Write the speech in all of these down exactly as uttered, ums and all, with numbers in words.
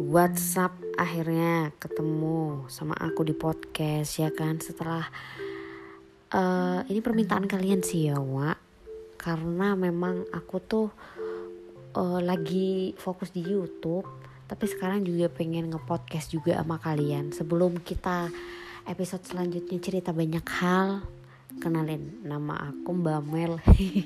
WhatsApp akhirnya ketemu sama aku di podcast ya kan. Setelah uh, ini permintaan kalian sih ya Wak, karena memang aku tuh uh, lagi fokus di YouTube, tapi sekarang juga pengen nge-podcast juga sama kalian. Sebelum kita episode selanjutnya cerita banyak hal, kenalin, nama aku Mbak Mel.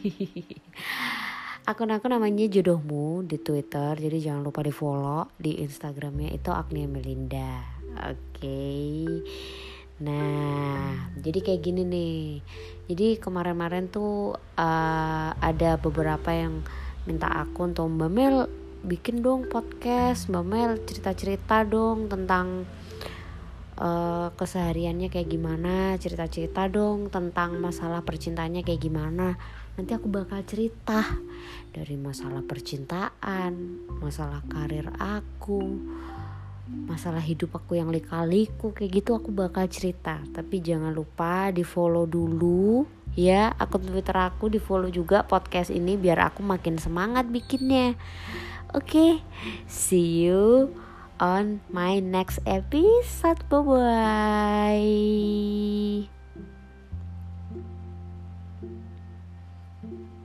Akun aku namanya Jodohmu di Twitter, jadi jangan lupa di follow. Di Instagramnya itu Agnia Melinda. Oke okay. Nah jadi kayak gini nih. Jadi kemarin-kemarin tuh uh, ada beberapa yang minta aku untuk Mbak Mel bikin dong podcast, Mbak Mel cerita-cerita dong tentang Uh, kesehariannya kayak gimana, cerita-cerita dong tentang masalah percintaannya kayak gimana. Nanti aku bakal cerita dari masalah percintaan, masalah karir aku, masalah hidup aku yang lika-liku kayak gitu, aku bakal cerita. Tapi jangan lupa di follow dulu ya akun Twitter aku, di follow juga podcast ini biar aku makin semangat bikinnya. Oke, okay. See you on my next episode. Bye bye.